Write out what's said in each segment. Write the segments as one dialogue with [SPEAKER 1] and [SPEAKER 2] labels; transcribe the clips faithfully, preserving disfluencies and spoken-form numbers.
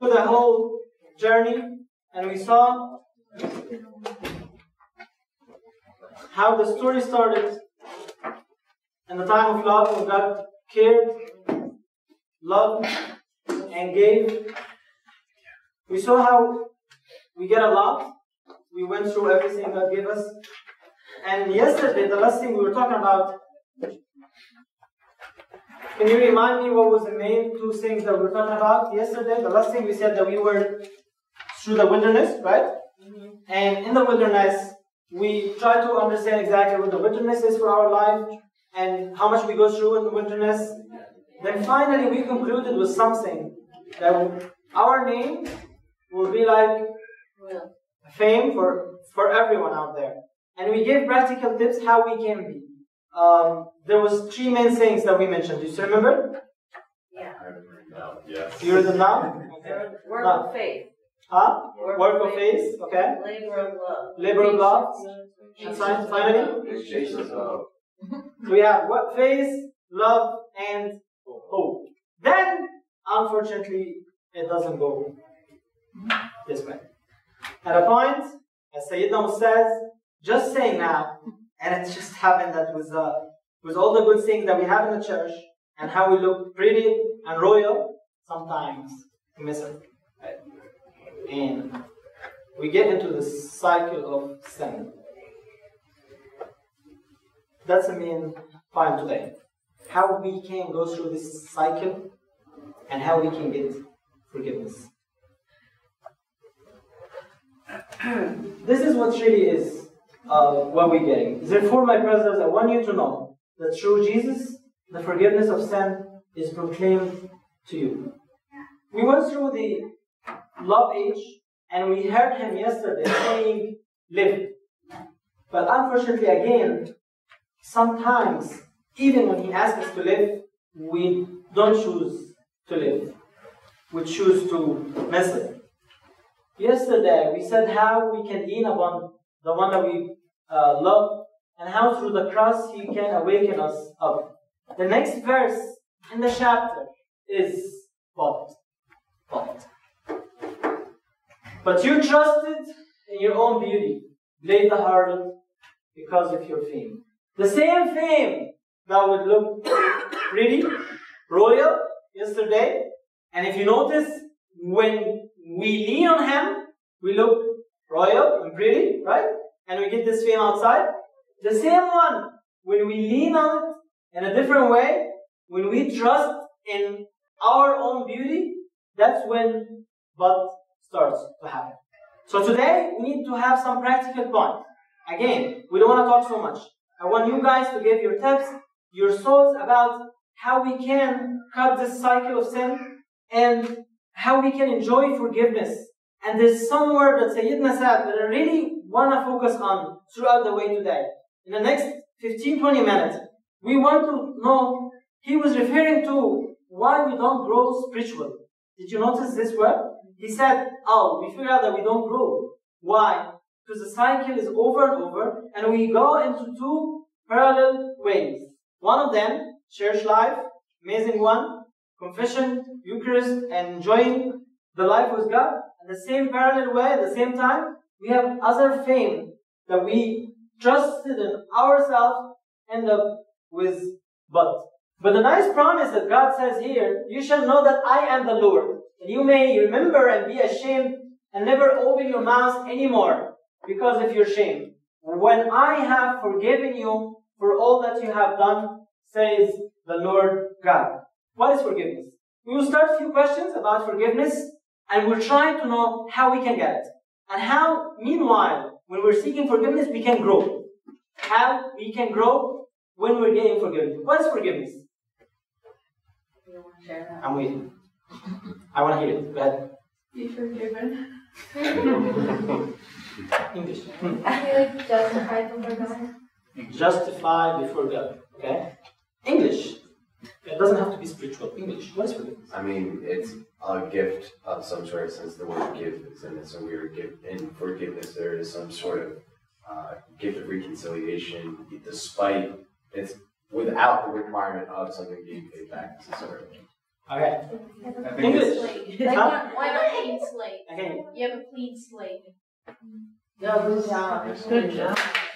[SPEAKER 1] the whole journey, and we saw how the story started in the time of love, when God cared, loved, and gave. We saw how we get a lot. We went through everything God gave us. And yesterday, the last thing we were talking about, can you remind me what was the main two things that we were talking about yesterday? The last thing we said that we were through the wilderness, right? Mm-hmm. And in the wilderness, we try to understand exactly what the wilderness is for our life and how much we go through in the wilderness. Then finally, we concluded with something that our name will be like fame for, for everyone out there. And we gave practical tips how we can be. Um, there was three main things that we mentioned. Do you still remember?
[SPEAKER 2] Yeah.
[SPEAKER 3] No, yes.
[SPEAKER 1] You read them now?
[SPEAKER 2] Okay. Work
[SPEAKER 1] no.
[SPEAKER 2] of faith.
[SPEAKER 1] Huh?
[SPEAKER 2] Work,
[SPEAKER 1] Work
[SPEAKER 2] of
[SPEAKER 1] of
[SPEAKER 2] faith.
[SPEAKER 1] faith. Okay.
[SPEAKER 2] Labor of love.
[SPEAKER 1] Labor of love. And
[SPEAKER 2] Patience.
[SPEAKER 1] finally?
[SPEAKER 3] Patience of love.
[SPEAKER 1] So we have what? Faith, love, and hope. Then, unfortunately, it doesn't go this way. At a point, as Sayyidina says, just saying now, and it just happened that with, uh, with all the good things that we have in the church, and how we look pretty and royal, sometimes we miss it. Right? And we get into the cycle of sin. That's the main point today. How we can go through this cycle and how we can get forgiveness. This is what really is uh, what we're getting. Therefore, my brothers, I want you to know that through Jesus, the forgiveness of sin is proclaimed to you. We went through the love age and we heard him yesterday saying, live. But unfortunately, again, sometimes, even when he asks us to live, we don't choose to live. We choose to miss it. Yesterday, we said how we can lean upon the one that we uh, love, and how through the cross he can awaken us up. The next verse in the chapter is but. But. But you trusted in your own beauty, played the harlot because of your fame. The same fame that would look pretty, royal yesterday, and if you notice, when we lean on him, we look royal and pretty, right? And we get this fame outside. The same one, when we lean on it in a different way, when we trust in our own beauty, that's when but starts to happen. So today, we need to have some practical points. Again, we don't want to talk so much. I want you guys to give your tips, your thoughts about how we can cut this cycle of sin and how we can enjoy forgiveness. And there's some word that Sayyidina said that I really want to focus on throughout the way today. In the next fifteen to twenty minutes, we want to know, he was referring to why we don't grow spiritually. Did you notice this word? He said, oh, we figure out that we don't grow. Why? Because the cycle is over and over, and we go into two parallel ways. One of them, church life, amazing one, confession, Eucharist, and enjoying the life with God. At the same parallel way, at the same time, we have other fame that we trusted in ourselves, end up with but. But the nice promise that God says here, you shall know that I am the Lord. And you may remember and be ashamed and never open your mouth anymore because of your shame. When I have forgiven you for all that you have done, says the Lord God. What is forgiveness? We will start a few questions about forgiveness, and we'll try to know how we can get it. And how, meanwhile, when we're seeking forgiveness, we can grow. How we can grow when we're getting forgiveness. What is forgiveness?
[SPEAKER 2] You want to share that?
[SPEAKER 1] I'm waiting. I want to hear it. Go ahead.
[SPEAKER 4] Be forgiven.
[SPEAKER 1] English.
[SPEAKER 4] I feel like justified before God.
[SPEAKER 1] Justify before God. Okay? English. It doesn't have to be spiritual. English. What is forgiveness?
[SPEAKER 3] I mean, it's a gift of some sort, since the word give is in it. So we are give in forgiveness. There is some sort of uh, gift of reconciliation, despite it's without the requirement of something being paid back necessarily.
[SPEAKER 1] Okay.
[SPEAKER 5] I think
[SPEAKER 1] English.
[SPEAKER 5] it's-
[SPEAKER 4] Like
[SPEAKER 1] Huh?
[SPEAKER 4] one, one a clean slate.
[SPEAKER 1] Again.
[SPEAKER 4] You have a clean slate.
[SPEAKER 2] No, good job.
[SPEAKER 4] Good job.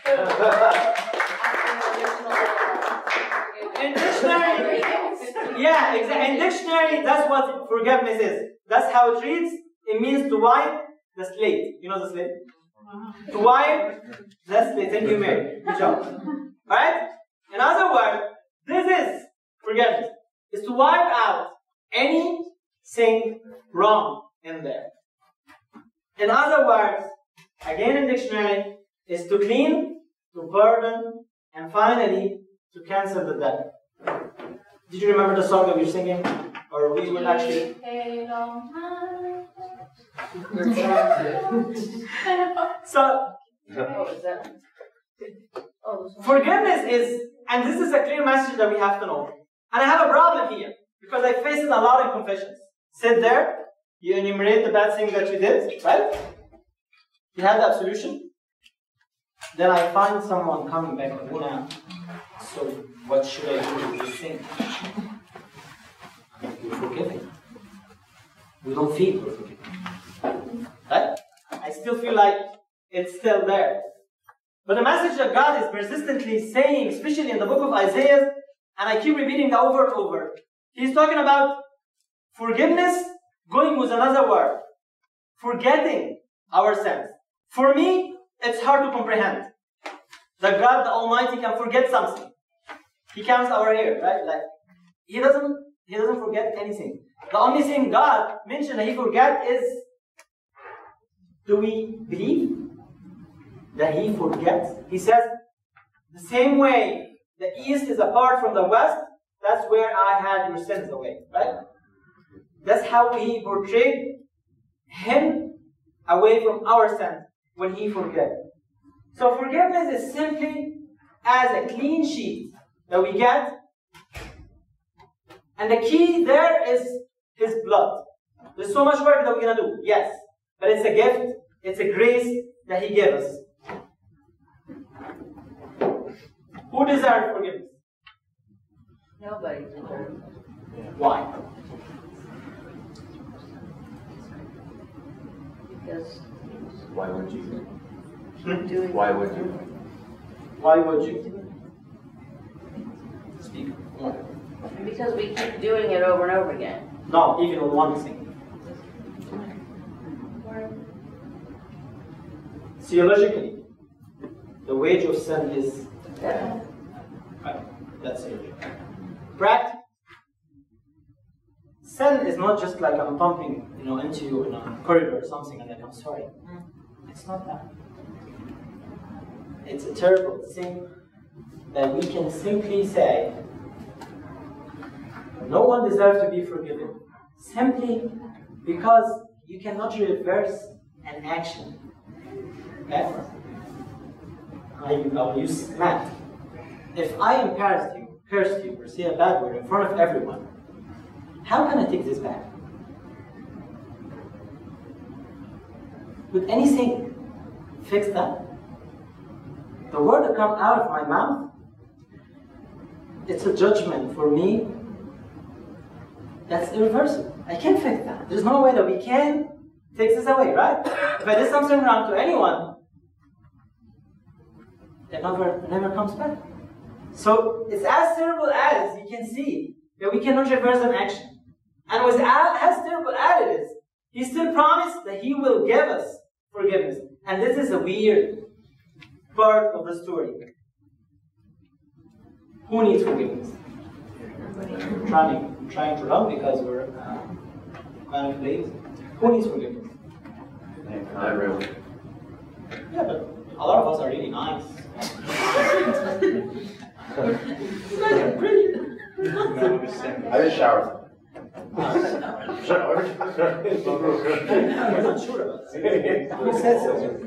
[SPEAKER 1] In dictionary, yeah, exactly. In dictionary, that's what forgiveness is. That's how it reads. It means to wipe the slate. You know the slate? To wipe the slate. Thank you, Mary. Good job. Alright? In other words, this is forgiveness. Is to wipe out anything wrong in there. In other words, again in dictionary, is to clean, to pardon, and finally to cancel the debt. Did you remember the song that we were singing? Or we will actually. So,
[SPEAKER 2] Oh, is that? Oh, this one.
[SPEAKER 1] forgiveness is, and this is a clear message that we have to know. And I have a problem here, because I face it a lot in confessions. Sit there, you enumerate the bad thing that you did, right? You have the absolution. Then I find someone coming back with Una. So, what should I do with this thing? We're forgiving. We don't feel we're forgiving. Right? I still feel like it's still there. But the message that God is persistently saying, especially in the book of Isaiah, and I keep repeating that over and over, He's talking about forgiveness going with another word. Forgetting our sins. For me, it's hard to comprehend that God the Almighty can forget something. He counts our hair, right? Like He doesn't He doesn't forget anything. The only thing God mentioned that He forget is, do we believe that He forgets? He says, the same way the east is apart from the west, that's where I had your sins away, right? That's how He portrayed Him away from our sins when He forgets. So forgiveness is simply as a clean sheet that we get, and the key there is His blood. There's so much work that we're going to do, yes, but it's a gift, it's a grace that He gave us. Who deserves forgiveness?
[SPEAKER 2] Nobody deserves it.
[SPEAKER 1] Why?
[SPEAKER 2] Because
[SPEAKER 3] Why would you?
[SPEAKER 1] Hmm?
[SPEAKER 2] doing.
[SPEAKER 3] Why would you?
[SPEAKER 1] Why would you? Speak more.
[SPEAKER 2] Because we keep doing it over and over again.
[SPEAKER 1] No, even on one thing. Theologically, the wage of sin is
[SPEAKER 2] Death.
[SPEAKER 1] right. That's it. Practically, sin is not just like I'm bumping, you know, into you in a corridor or something, and like I'm sorry. It's not that. It's a terrible thing that we can simply say, no one deserves to be forgiven, simply because you cannot reverse an action. Okay? I, I will use math. If I embarrassed you, cursed you, or say a bad word in front of everyone, how can I take this back? Would anything fix that? The word that comes out of my mouth, it's a judgment for me that's irreversible. I can't fix that. There's no way that we can take this away, right? If I did something wrong to anyone, it never, it never comes back. So it's as terrible as you can see that we cannot reverse an action. And with as terrible as it is, He still promised that He will give us forgiveness. And this is a weird part of the story. Who needs forgiveness? I'm trying, I'm trying to run because we're uh, kind of late. Who needs forgiveness?
[SPEAKER 3] Not really.
[SPEAKER 1] Yeah, but a lot of us are really nice.
[SPEAKER 3] I just showered. Showered?
[SPEAKER 1] I'm not sure about that. Who said so?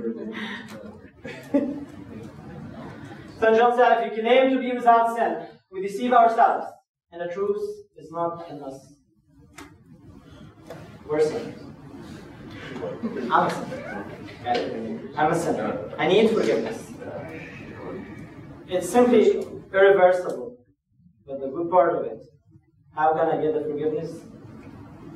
[SPEAKER 1] Saint John said, if you claim to be without sin, we deceive ourselves, and the truth is not in us. We're sinners. I'm a sinner. Okay? I'm a sinner. I need forgiveness. It's simply irreversible. But the good part of it, how can I get the forgiveness?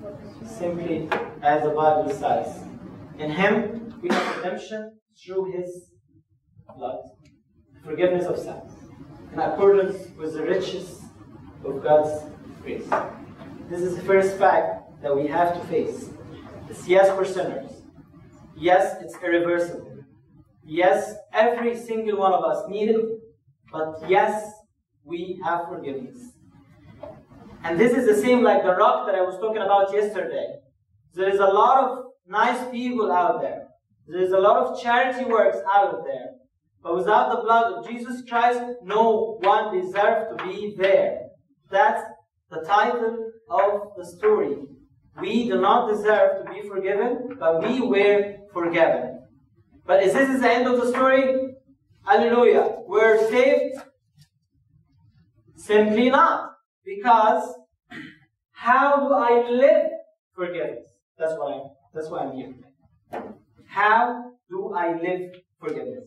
[SPEAKER 1] Simply as the Bible says. In Him we have redemption through His blood, forgiveness of sins, in accordance with the riches of God's grace. This is the first fact that we have to face. It's yes, we're sinners. Yes, it's irreversible. Yes, every single one of us need it. But yes, we have forgiveness. And this is the same like the rock that I was talking about yesterday. There is a lot of nice people out there. There is a lot of charity works out there. But without the blood of Jesus Christ, no one deserves to be there. That's the title of the story. We do not deserve to be forgiven, but we were forgiven. But is this the end of the story? Hallelujah. We're saved? Simply not. Because how do I live forgiveness? That's why I'm, that's why I'm here. How do I live forgiveness?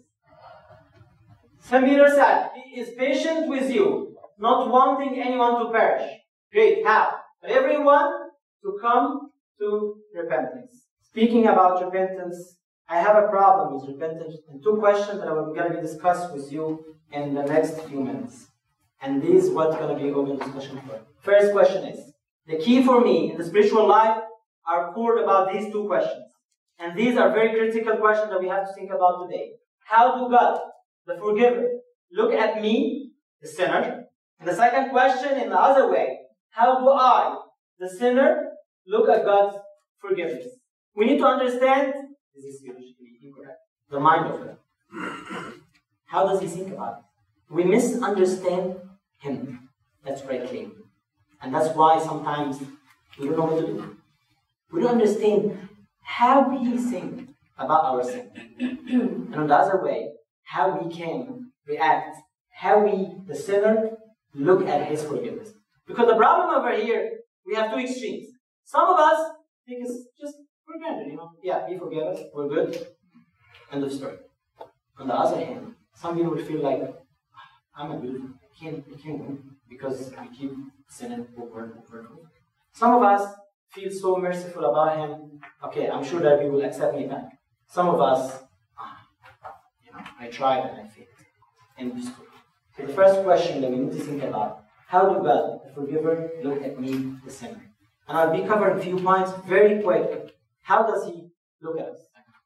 [SPEAKER 1] Saint Peter said, He is patient with you, not wanting anyone to perish. Great. How? But everyone to come to repentance. Speaking about repentance, I have a problem with repentance and two questions that I'm going to be discussed with you in the next few minutes. And this is what's going to be open discussion for. First question is, the key for me in the spiritual life are poured about these two questions. And these are very critical questions that we have to think about today. How do God, the forgiver, look at me, the sinner? And the second question in the other way, how do I, the sinner, look at God's forgiveness? We need to understand, this is theologically incorrect, the mind of God. How does He think about it? We misunderstand Him. That's what I claim. And that's why sometimes we don't know what to do. We don't understand how He thinks about our sin. And on the other way, how we can react, how we, the sinner, look at His forgiveness. Because the problem over here, we have two extremes. Some of us think it's just for granted, you know. Yeah, He forgave us, we're good. End of story. On the other hand, some people will feel like, I'm a good, I can't, I can't win because we keep sinning over and over and over. Some of us feel so merciful about Him, okay, I'm sure that He will accept me back. Some of us, ah, you know, I tried and I failed. End of story. So the first question that we need to think about, how do God, the forgiver, look at me, the sinner? And I'll be covering a few points very quick. How does He look at us?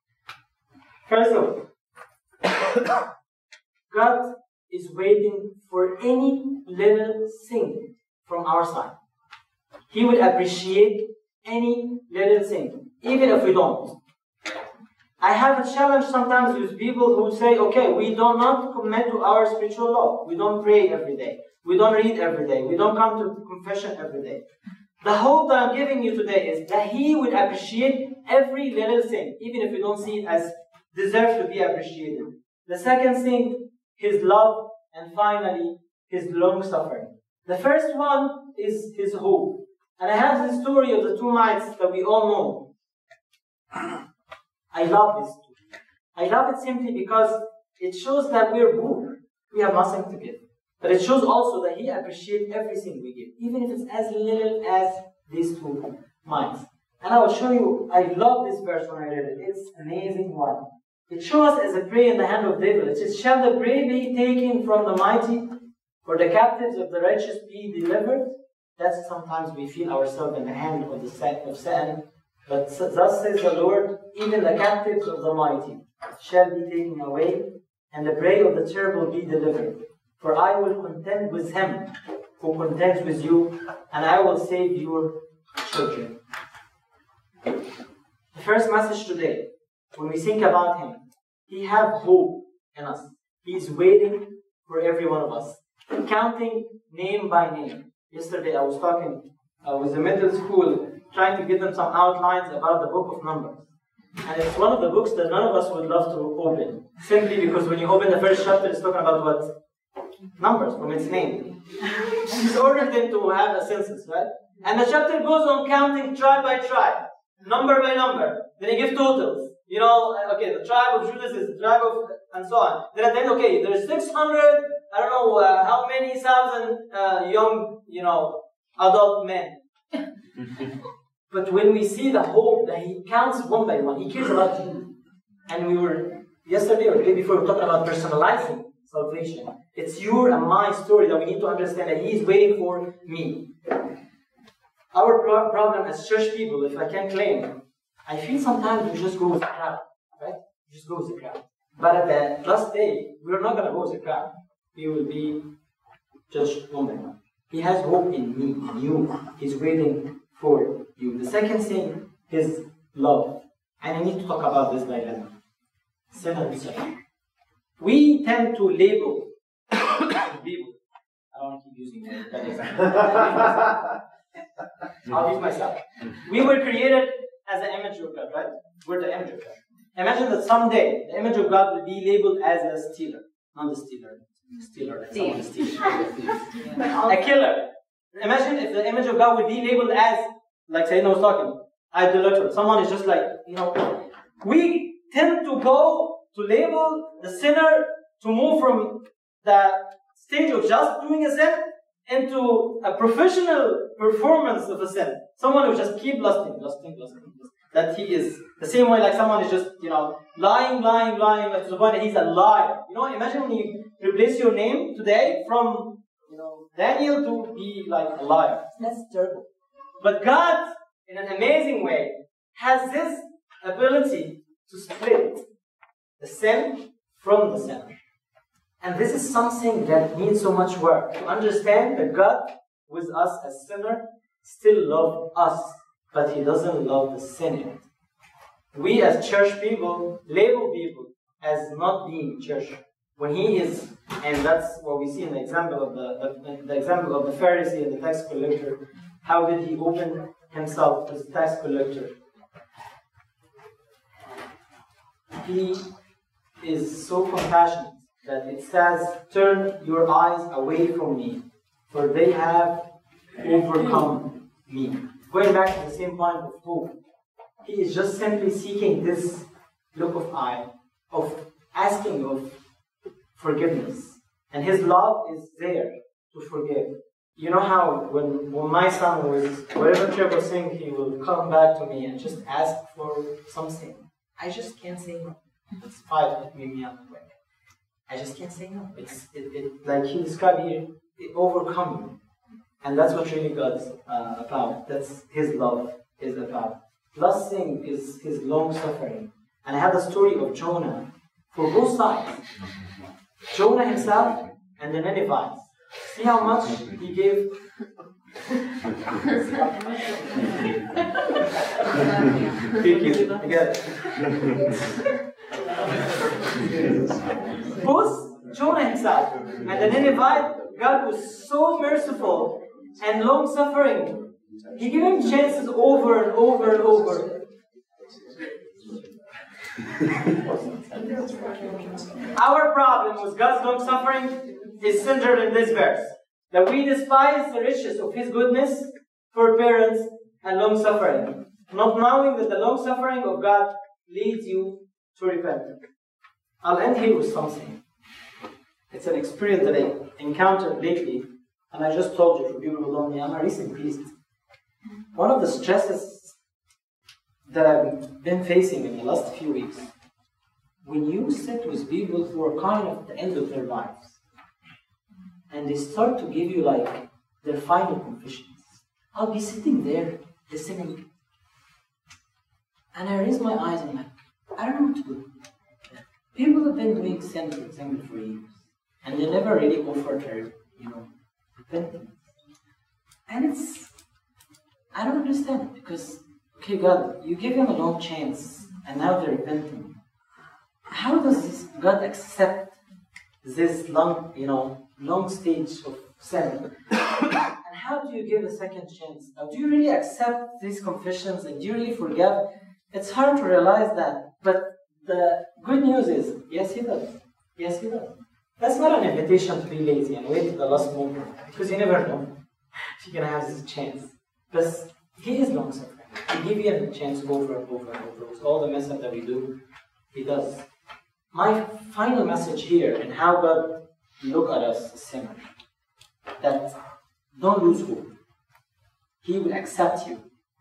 [SPEAKER 1] First of all, God is waiting for any little thing from our side. He would appreciate any little thing, even if we don't. I have a challenge sometimes with people who say, okay, we do not commit to our spiritual law. We don't pray every day. We don't read every day. We don't come to confession every day. The hope that I'm giving you today is that He would appreciate every little thing, even if we don't see it as deserve to be appreciated. The second thing, His love, and finally, His long-suffering. The first one is His hope. And I have the story of the two mites that we all know. I love this story. I love it simply because it shows that we're poor. We have nothing to give. But it shows also that He appreciates everything we give, even if it's as little as these two mites. And I will show you, I love this verse when I read it. It's an amazing one. It shows us as a prey in the hand of David. It says, shall the prey be taken from the mighty, or the captives of the righteous be delivered? That's sometimes we feel ourselves in the hand of the set of Satan. But thus says the Lord, even the captives of the mighty shall be taken away, and the prey of the terrible be delivered. For I will contend with him who contends with you, and I will save your children. The first message today, when we think about Him, He has hope in us. He is waiting for every one of us, counting name by name. Yesterday I was talking uh, with the middle school, trying to give them some outlines about the book of Numbers. And it's one of the books that none of us would love to open, simply because when you open the first chapter, it's talking about what? Numbers, from its name. He's ordered them to have a census, right? And the chapter goes on counting tribe by tribe, number by number. Then he gives totals. You know, okay, the tribe of Judah is the tribe of, and so on. Then at the end, okay, there's six hundred, I don't know uh, how many thousand uh, young, you know, adult men. But when we see the hope that He counts one by one, He cares about you. And we were, yesterday or the day before, we were talking about personalizing salvation. It's your and my story that we need to understand that He is waiting for me. Our pro- problem as church people, if I can claim, I feel sometimes we just go with the crowd, right? We just go with the crowd. But at the last day, we're not going to go with the crowd. We will be judged one by one. He has hope in me, in you. He's waiting for you. The second thing is love. And I need to talk about this dilemma. Sin and suffering. We tend to label people. I don't want to keep using that example. I'll use myself. We were created as the image of God, right? We're the image of God. Imagine that someday the image of God will be labeled as a stealer. Not the stealer. Stealer. Someone steals. A killer. Imagine if the image of God would be labeled as, like Sayyidina was talking, idolater. Someone is just like, you know, we tend to go to label the sinner to move from the stage of just doing a sin into a professional performance of a sin. Someone who just keep lusting, lusting, lusting, lusting. That he is the same way like someone is just, you know, lying, lying, lying, like to the point that he's a liar. You know, imagine when you replace your name today from, you know, Daniel to be like a liar. That's terrible. But God, in an amazing way, has this ability to split the sin from the sinner. And this is something that needs so much work. To understand that God, with us as sinner, still loves us, but He doesn't love the sinner. We as church people label people as not being church when He is, and that's what we see in the example of the, the, the example of the Pharisee and the tax collector. How did he open himself as a tax collector? He is so compassionate that it says, "Turn your eyes away from me, for they have overcome me." Going back to the same point of hope, he is just simply seeking this look of eye, of asking of forgiveness. And his love is there to forgive. You know how when, when my son was, whatever Trevor was saying, he will come back to me and just ask for something. I just can't say no. It's five that made me up quick. I just can't say no. It's it, it like he described here, it overcome me. And that's what really God's uh, about. That's His love is about. Last thing is His long suffering. And I have the story of Jonah for both sides. Jonah himself and the Ninevites. See how much he gave. Thank you. I get it. Both Jonah himself and the Ninevite, God was so merciful and long-suffering. He gave him chances over and over and over. Our problem with God's long-suffering is centered in this verse. That we despise the riches of His goodness, forbearance, and long-suffering, not knowing that the long-suffering of God leads you to repentance. I'll end here with something. It's an experience that I encountered lately, and I just told you for people who don't know me, I'm a recent priest. One of the stresses that I've been facing in the last few weeks, when you sit with people who are kind of at the end of their lives, and they start to give you like their final confessions, I'll be sitting there listening, and I raise my eyes and I'm like, I don't know what to do. People have been doing sin, for example, for years, and they never really offered their, you know, repentance. And it's, I don't understand it, because, okay, God, you give them a long chance, and now they're repenting. How does this God accept this long, you know, long stage of sin? And how do you give a second chance? Now, do you really accept these confessions, and do you really forgive? It's hard to realize that, but the good news is, yes, He does. Yes, He does. That's not an invitation to be lazy and wait to the last moment, because you never know if you're going to have this chance. But He is long-suffering. He gives you a chance over and over and over. With all the mess up that we do, He does. My final message here, and how God look at us as sinners, that don't lose hope. He will accept you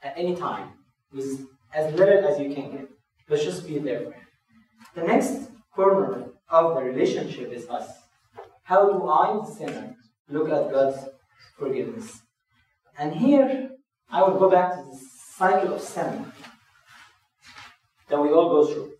[SPEAKER 1] at any time with as little as you can get. Let's just be there. The next corner of the relationship is us. How do I, the sinner, look at God's forgiveness? And here, I will go back to the cycle of sin that we all go through.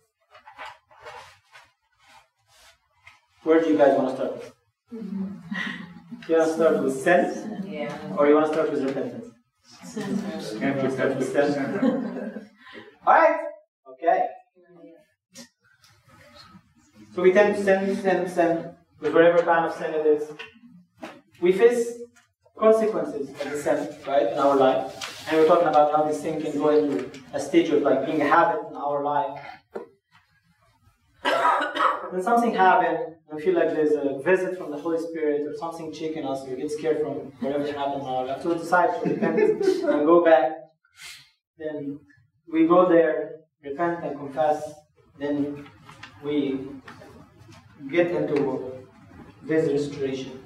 [SPEAKER 1] Where do you guys want to start with? You want to start with sin?
[SPEAKER 2] Yeah.
[SPEAKER 1] Or you want to start with repentance?
[SPEAKER 2] Sin.
[SPEAKER 1] You start with sin? Alright? Okay. So we tend to sin, sin, sin, with whatever kind of sin it is. We face consequences of the sin, right, in our life. And we're talking about how this sin can go into a stage of like being a habit in our life. When something happens, we feel like there's a visit from the Holy Spirit or something shaking us, we get scared from whatever happened in our life. So we decide to repent and go back. Then we go there, repent and confess. Then we get into this restoration.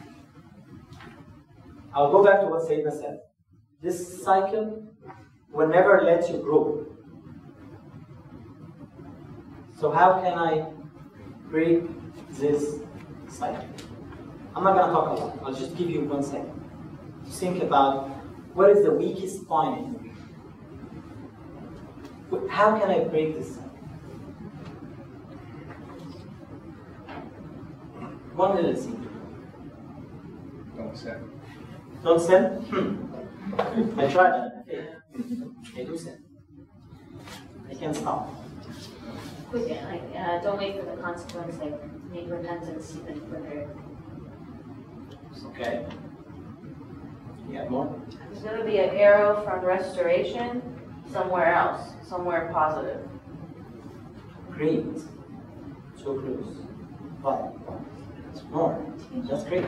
[SPEAKER 1] I'll go back to what Sayyidina said. This cycle will never let you grow. So how can I break this cycle? I'm not going to talk a lot. I'll just give you one second to think about what is the weakest point in you. How can I break this cycle? One little thing.
[SPEAKER 3] Don't sin.
[SPEAKER 1] Don't sin? Hmm. I tried that. I failed. I do sin. I can't stop.
[SPEAKER 2] Quick, like, uh, don't wait for the consequence, like, make repentance even quicker.
[SPEAKER 1] Okay. You have more?
[SPEAKER 5] There's going to be an arrow from restoration somewhere else, somewhere positive.
[SPEAKER 1] Great. So close. But more. That's great.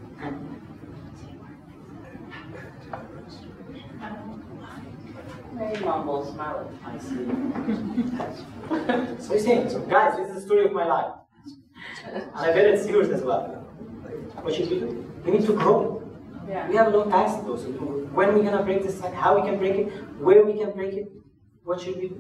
[SPEAKER 5] Very mumble, smile.
[SPEAKER 1] I see. So you're saying, so guys, this is the story of my life. And I bet it's yours as well. What should we do? We need to grow.
[SPEAKER 5] Yeah.
[SPEAKER 1] We have a long time to go. So when are we gonna break this cycle? How we can break it? Where we can break it? What should we do?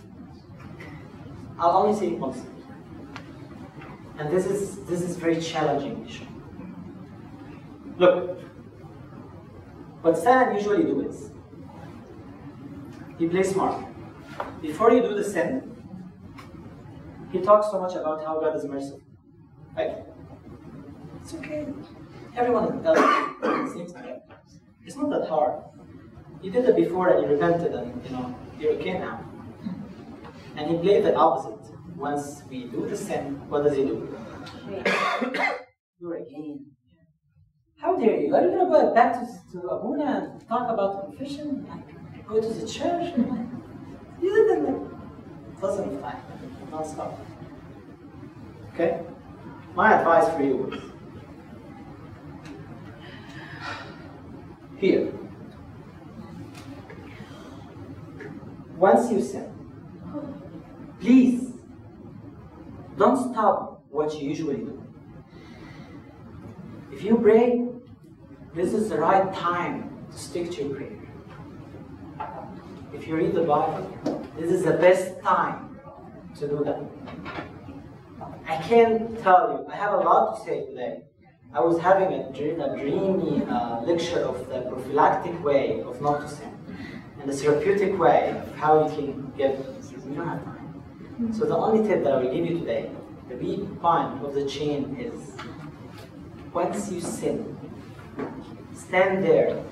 [SPEAKER 1] I'll only say one thing. And this is this is very challenging issue. Look, what Satan usually do is he plays smart. Before you do the sin, he talks so much about how God is merciful. Right? It's okay. Everyone does it at the same time. It's not that hard. You did it before and you repented and you know you're okay now. And he played the opposite. Once we do the sin, what does he do? Do it again. How dare you? Are you gonna go back to, to Abuna and talk about confession? Like, go to the church? You did it like dozen of times, non-stop. Okay? My advice for you is here. Once you sin, please don't stop what you usually do. If you pray, this is the right time to stick to your prayer. If you read the Bible, this is the best time to do that. I can't tell you, I have a lot to say today. I was having a, dream, a dreamy uh, lecture of the prophylactic way of not to sin, and the therapeutic way of how you can get this. We don't have time. So the only tip that I will give you today, the weak point of the chain is, once you sin, stand there.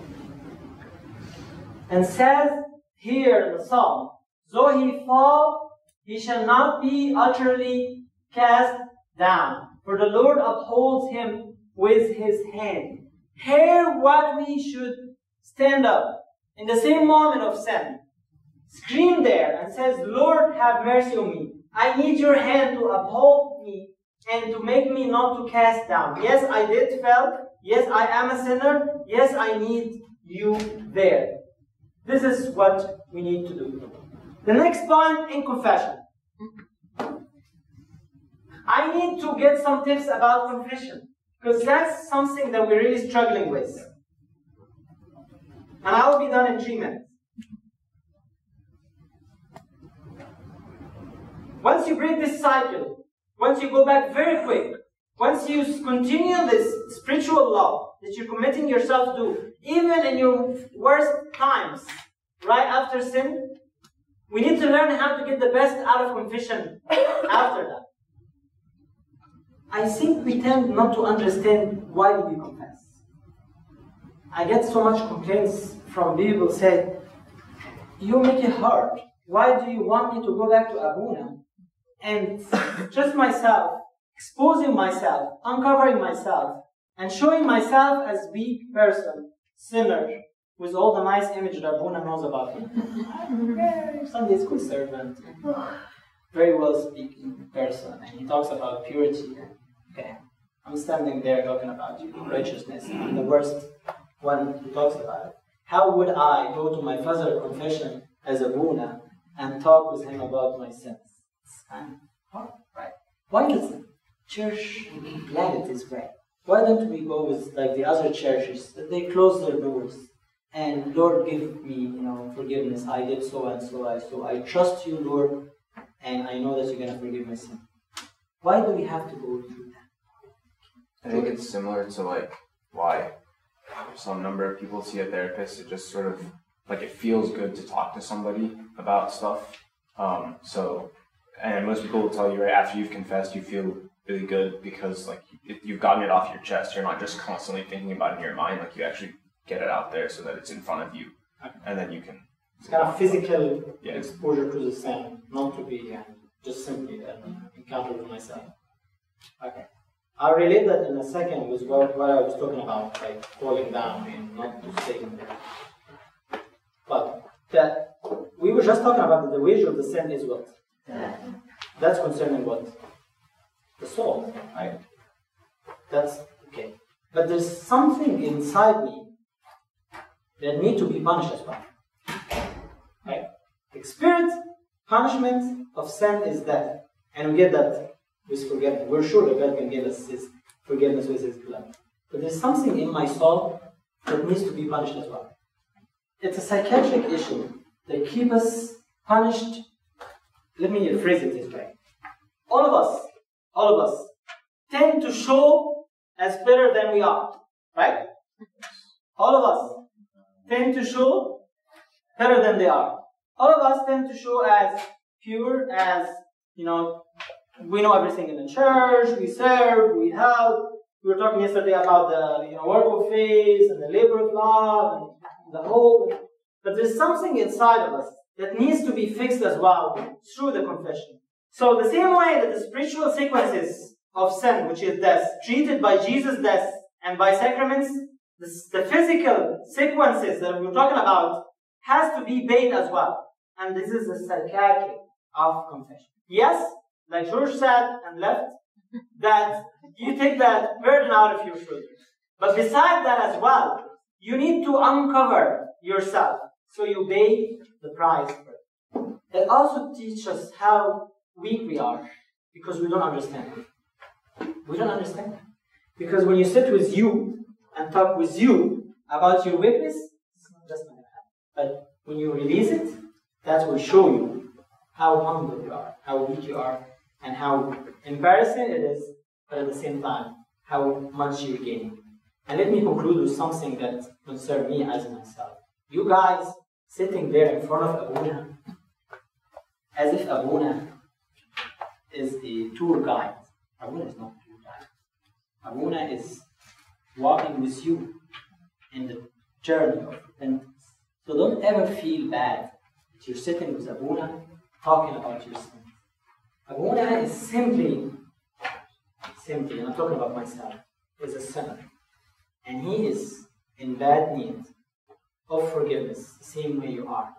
[SPEAKER 1] And says here in the Psalm, though he fall, he shall not be utterly cast down, for the Lord upholds him with his hand. Hear what we should stand up in the same moment of sin. Scream there and says, Lord, have mercy on me. I need your hand to uphold me and to make me not to cast down. Yes, I did fail. Yes, I am a sinner. Yes, I need you there. This is what we need to do. The next point in confession. I need to get some tips about confession, because that's something that we're really struggling with. And I will be done in three minutes. once you break this cycle, once you go back very quick, once you continue this spiritual law that you're committing yourself to, even in your worst times, right after sin, we need to learn how to get the best out of confession after that. I think we tend not to understand why do we confess. I get so much complaints from people who say, you make it hard. Why do you want me to go back to Abuna and just myself, exposing myself, uncovering myself, and showing myself as weak person, sinner, with all the nice image that Abuna knows about me. I'm a Sunday school servant, very well speaking person, and he talks about purity. Okay, I'm standing there talking about you, righteousness. I'm the worst one who talks about it. How would I go to my father confession as Abuna and talk with him about my sins? It's kind of hard, right? Why does the church plan it this way? Why don't we go with like the other churches that they close their doors and Lord give me, you know, forgiveness. I did so and so I so I trust you, Lord, and I know that you're gonna forgive my sin. Why do we have to go through that?
[SPEAKER 6] I think it's similar to like why some number of people see a therapist. It just sort of like it feels good to talk to somebody about stuff. Um, so, and most people will tell you right after you've confessed, you feel really good because like it, you've gotten it off your chest. You're not just constantly thinking about it in your mind. Like you actually get it out there so that it's in front of you, and then you can.
[SPEAKER 1] It's kind of physical
[SPEAKER 6] yeah.
[SPEAKER 1] exposure to the sin, not to be uh, just simply uh, encounter with myself. Okay. I'll relate that in a second with what, what I was talking about, like falling down and not to stay in there. But that we were just talking about that the wage of the sin is what? Yeah. That's concerning what? The soul, right? That's okay. But there's something inside me that need to be punished as well. Right? The spirit punishment of sin is death. And we get that with forgiveness. We're sure that God can give us His forgiveness with His blood. But there's something in my soul that needs to be punished as well. It's a psychiatric issue that keeps us punished. Let me phrase it this way. All of us, all of us, tend to show as better than we are. Right? All of us tend to show better than they are. All of us tend to show as pure, as, you know, we know everything in the church, we serve, we help. We were talking yesterday about the you know, work of faith and the labor of love and the hope. But there's something inside of us that needs to be fixed as well through the confession. So the same way that the spiritual sequences of sin, which is death, treated by Jesus' death and by sacraments, the, the physical sequences that we're talking about has to be paid as well. And this is the psychiatry of confession. Yes, like George said and left, that you take that burden out of your shoulders. But beside that as well, you need to uncover yourself so you pay the price for it. It also teaches us how weak we are because we don't understand. We don't understand. Because when you sit with you and talk with you about your weakness, it's not just going to happen. But when you release it, that will show you how humble you are, how weak you are, and how embarrassing it is, but at the same time, how much you're gaining. And let me conclude with something that concerns me as myself. You guys sitting there in front of Abuna, as if Abuna is a tour guide. Abuna is not a tour guide. Abuna is walking with you in the journey of repentance. So don't ever feel bad that you're sitting with Abuna talking about your sin. Abuna is simply, simply, and I'm talking about myself, is a sinner. And he is in bad need of forgiveness, the same way you are.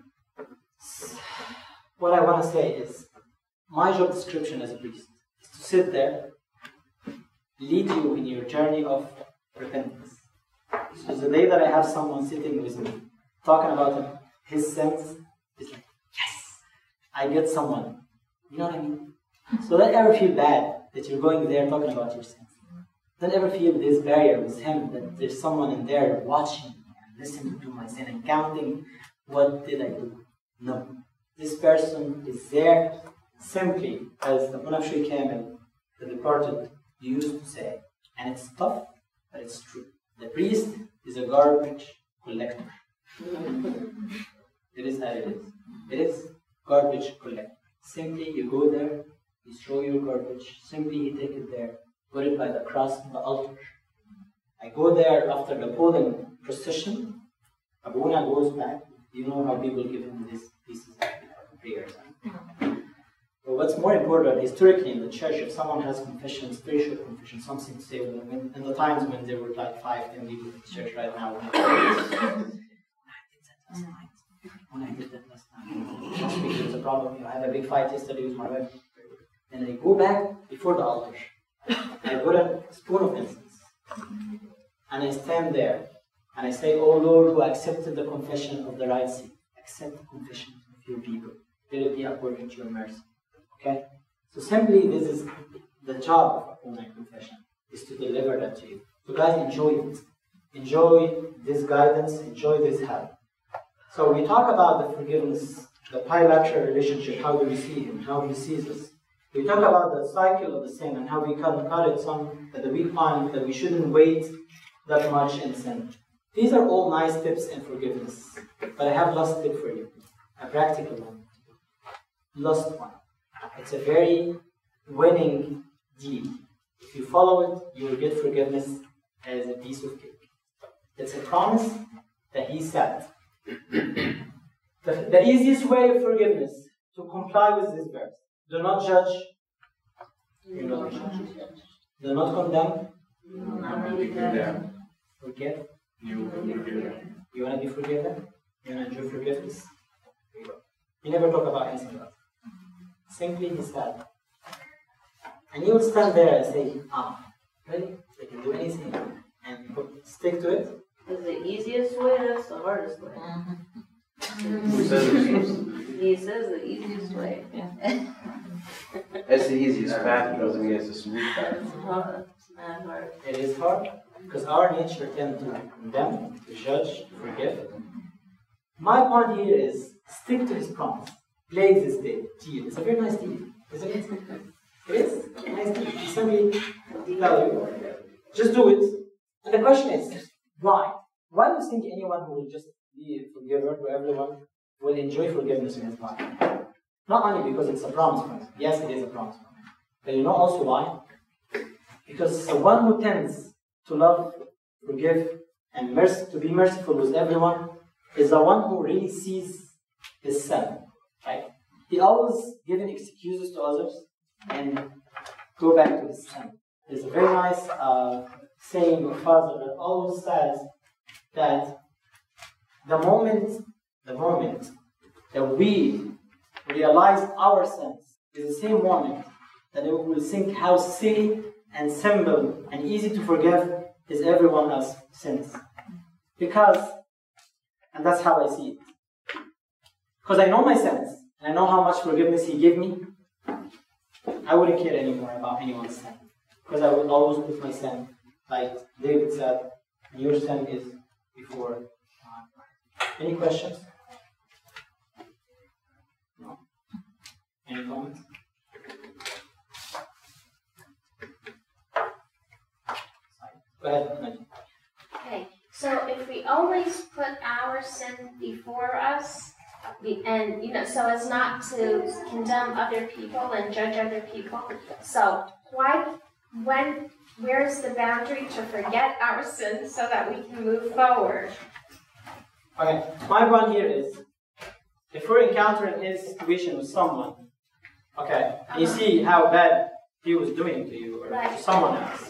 [SPEAKER 1] What I want to say is, my job description as a priest is to sit there, lead you in your journey of repentance. So the day that I have someone sitting with me, talking about his sins, it's like, yes, I get someone. You know what I mean? So don't ever feel bad that you're going there talking about your sins. Don't ever feel this barrier with him, that there's someone in there watching and listening to my sin and counting, what did I do? No. This person is there simply as the Munafshi Kamil, the departed, used to say, and it's tough, but it's true. The priest is a garbage collector. It is how it is. It is garbage collector. Simply you go there, you throw your garbage, simply you take it there, put it by the cross on the altar. I go there after the Poland procession. Abuna goes back. You know how people give him these pieces of prayers. But what's more important, historically in the church, if someone has confession, spiritual confession, something to say, when, in the times when there were like five, ten people in the church right now, when I did that last night, last week there was a problem, you know, I had a big fight yesterday with my wife. And I go back before the altar. I put a spoon of incense. And I stand there. And I say, "Oh Lord, who accepted the confession of the right seed, accept the confession of your people. Let it be according to your mercy." Okay? So simply, this is the job of a online confession, is to deliver that to you. So guys, enjoy it. Enjoy this guidance, enjoy this help. So we talk about the forgiveness, the bilateral relationship, how do we see him, how he sees us. We talk about the cycle of the sin and how we can cut it some that we find that we shouldn't wait that much in sin. These are all nice tips in forgiveness. But I have last tip for you, a practical one. Last one. It's a very winning deed. If you follow it, you will get forgiveness as a piece of cake. It's a promise that he said. The, the easiest way of forgiveness, to comply with this verse. Do not judge. Do not judge. Do not condemn.
[SPEAKER 5] Do not be condemned.
[SPEAKER 1] Forgive.
[SPEAKER 6] You will be forgiven.
[SPEAKER 1] You want to be forgiven? You want to enjoy forgiveness? You never talk about anything else. Simply he said. And you will stand there and say, ah, really? They can do anything. And stick to it.
[SPEAKER 5] Is the easiest way, that's the hardest way.
[SPEAKER 3] Who says it's
[SPEAKER 5] He says the easiest way.
[SPEAKER 3] That's the easiest path, doesn't mean it's a smooth path.
[SPEAKER 5] It's hard. It's not hard.
[SPEAKER 1] It is hard because our nature tends to condemn, to judge, to forgive. My point here is stick to his promise. Play this deal. It's a very nice deal, isn't it? It is a nice deal. He simply tell you, just do it. And the question is, why? Why do you think anyone who will just be a forgiver to everyone will enjoy forgiveness in his life? Not only because it's a promise from him. Yes, it is a promise from him. But you know also why? Because the one who tends to love, forgive, and merc- to be merciful with everyone is the one who really sees his sin. Right? He always giving excuses to others and go back to his sin. There's a very nice uh, saying of Father that always says that the moment, the moment that we realize our sins is the same moment that we will think how silly and simple and easy to forgive is everyone else's sins. Because, and that's how I see it. Because I know my sins, and I know how much forgiveness he gave me, I wouldn't care anymore about anyone's sin. Because I would always put my sin, like David said, your sin is before mine. Any questions? No? Any comments? Go ahead, Najee.
[SPEAKER 4] Okay, so if we always put our sin before us, we- and you know, so as not to condemn other people and judge other people, so why, when, where's the boundary to forget our sins so that we can move forward?
[SPEAKER 1] Okay, my point here is, if we're encountering a situation with someone, okay, and you see how bad he was doing to you or to someone else,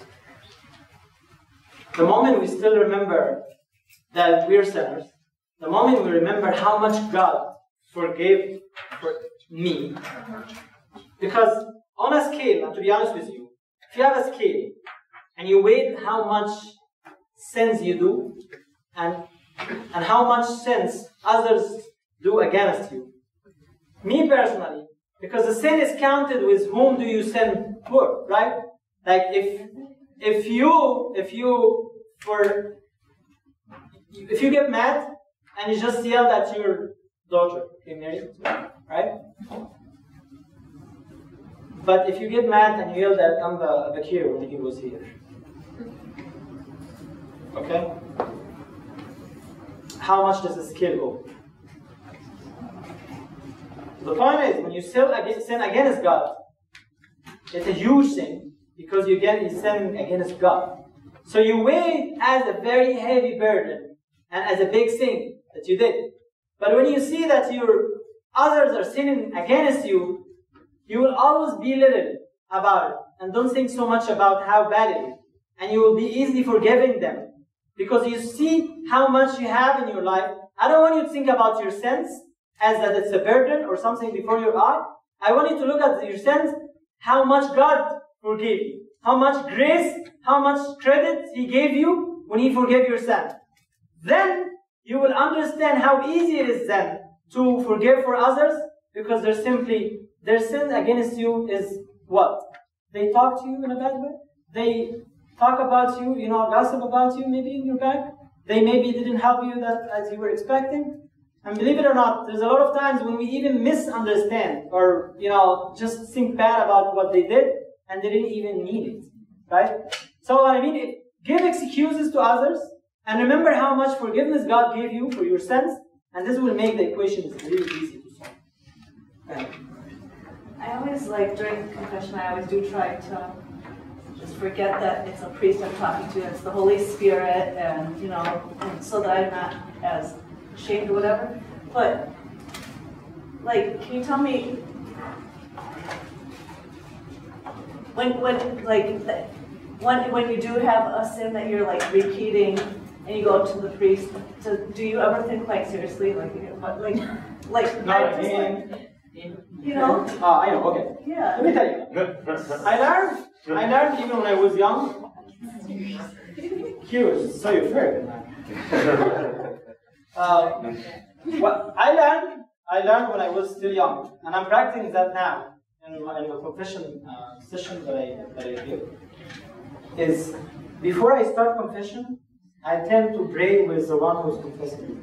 [SPEAKER 1] the moment we still remember that we're sinners, the moment we remember how much God forgave for me, because on a scale, and to be honest with you, if you have a scale and you weigh how much sins you do and and how much sins others do against you, me personally, because the sin is counted with whom do you sin for, right? Like if if you if you for if you get mad and you just yell at your daughter, okay, married, right? But if you get mad and you yell at Amba Bakir when he was here, okay? How much does the skill go? The point is, when you sin against, sin against God, it's a huge sin because you get you sin against God. So you weigh it as a very heavy burden and as a big sin that you did. But when you see that your others are sinning against you, you will always belittle about it and don't think so much about how bad it is. And you will be easily forgiving them because you see how much you have in your life. I don't want you to think about your sins as that it's a burden or something before your eye. I want you to look at your sins, how much God forgave you, how much grace, how much credit He gave you when He forgave your sin. Then you will understand how easy it is then to forgive for others because they're simply, their sin against you is what? They talk to you in a bad way. They talk about you, you know, gossip about you maybe in your back. They maybe didn't help you that as you were expecting. And believe it or not, there's a lot of times when we even misunderstand or, you know, just think bad about what they did and they didn't even mean it, right? So what I mean, it, give excuses to others and remember how much forgiveness God gave you for your sins, and this will make the equations really easy to solve. Right.
[SPEAKER 7] I always like, during confession, I always do try to just forget that it's a priest I'm talking to, it's the Holy Spirit, and, you know, and so that I'm not as ashamed or whatever. But, like, can you tell me, when, when like, when, when you do have a sin that you're, like, repeating, and you go to the priest, to, do you ever think, like, seriously, like, what, like, like,
[SPEAKER 1] No,
[SPEAKER 7] I just,
[SPEAKER 1] again.
[SPEAKER 7] like, you know?
[SPEAKER 1] Ah, I know, okay.
[SPEAKER 7] Yeah.
[SPEAKER 1] Let me tell you. I learned, I learned even when I was young. Curious, so you're fair, man. Uh, what I learned, I learned when I was still young, and I'm practicing that now in, my, in the confession uh, session that I, that I give, is before I start confession, I tend to pray with the one who's confessing.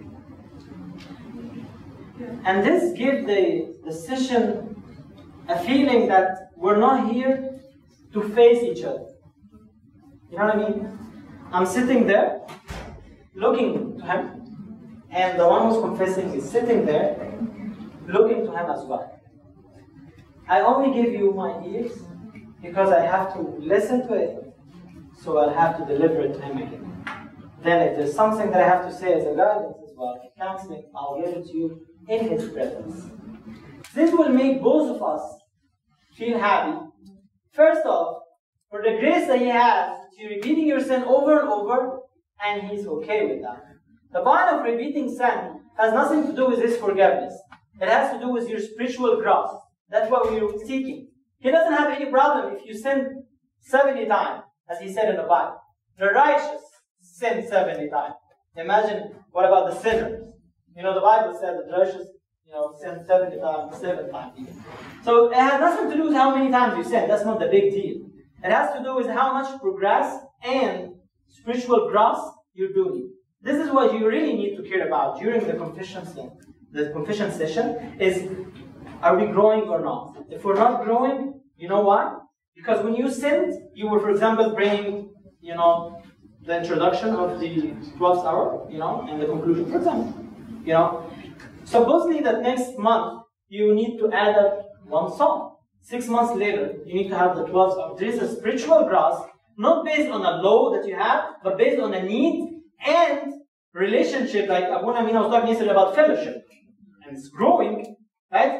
[SPEAKER 1] And this gives the, the session a feeling that we're not here to face each other. You know what I mean? I'm sitting there, looking to him, and the one who's confessing is sitting there, looking to him as well. I only give you my ears because I have to listen to it, so I'll have to deliver it to him again. Then if there's something that I have to say as a guidance as well, counseling, I'll give it to you in his presence. This will make both of us feel happy. First off, for the grace that he has, you're repeating your sin over and over, and he's okay with that. The point of repeating sin has nothing to do with his forgiveness. It has to do with your spiritual growth. That's what we're seeking. He doesn't have any problem if you sin seventy times, as he said in the Bible. The righteous sin seventy times. Imagine, what about the sinners? You know, the Bible said that the righteous, you know, sin seventy times, seven times even. So it has nothing to do with how many times you sin. That's not the big deal. It has to do with how much progress and spiritual growth you're doing. This is what you really need to care about during the confession session. The confession session is, are we growing or not? If we're not growing, you know why? Because when you sinned, you were, for example, bringing, you know, the introduction of the twelfth hour, you know, and the conclusion, for example. You know, supposedly that next month you need to add up one song. Six months later, you need to have the twelfth hour. There is a spiritual growth, not based on a law that you have, but based on a need and relationship. Like Abu Namin was talking yesterday about fellowship, and it's growing, right?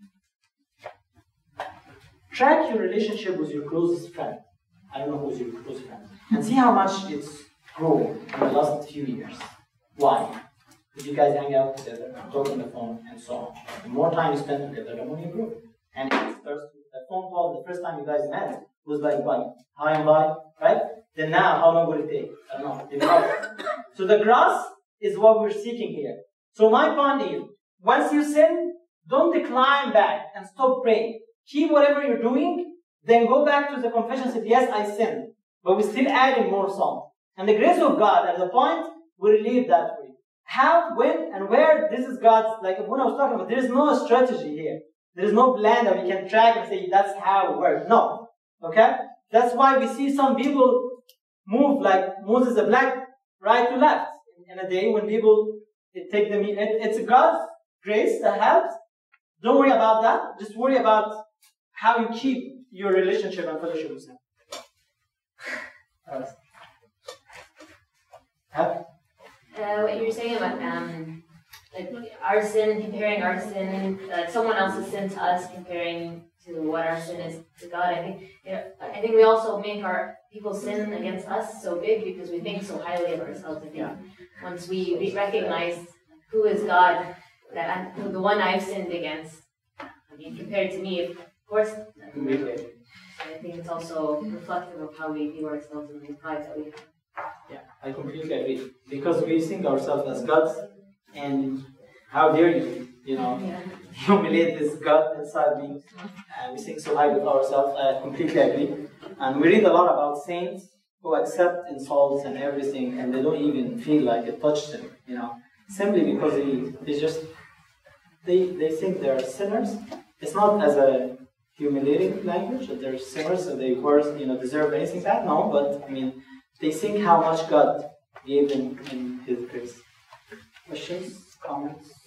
[SPEAKER 1] Track your relationship with your closest friend. I don't know who's your closest friend, and see how much it's grown in the last few years. Why? Because you guys hang out together, talk on the phone, and so on. The more time you spend together, the more you grow. And it starts with the phone call. The first time you guys met was like, what? Hi and bye, right? Then now, how long will it take? I don't know. So the grass is what we're seeking here. So my point is, once you sin, don't decline back and stop praying. Keep whatever you're doing, then go back to the confession and say, yes, I sinned. But we're still adding more songs. And the grace of God at the point will relieve that for you. How, when, and where, this is God's, like when I was talking about, there is no strategy here. There is no plan that we can track and say that's how it works. No. Okay? That's why we see some people move like Moses the Black, right to left. In a day when people it take them, it, it's God's grace that helps. Don't worry about that. Just worry about how you keep your relationship and fellowship with Him.
[SPEAKER 2] Uh, what you were saying about um, like our sin, comparing our sin, uh, someone else's sin to us, comparing to what our sin is to God. I think you know, I think we also make our people's sin against us so big because we think so highly of ourselves. I think yeah. Once we, we recognize who is God, that I'm, the one I've sinned against, I mean, compared to me, of course. I think it's also reflective of how we view ourselves and the pride that we have.
[SPEAKER 1] Yeah, I completely agree. Because we think ourselves as gods, and how dare you, you know, yeah. humiliate this God inside me. And we think so high with ourselves. I completely agree. And we read a lot about saints who accept insults and everything, and they don't even feel like it touched them, you know, simply because they, they just, they, they think they're sinners. It's not as a humiliating language that they're sinners and they worse, you know, deserve anything bad. No, but I mean, they think how much God gave them in His grace. Questions, comments?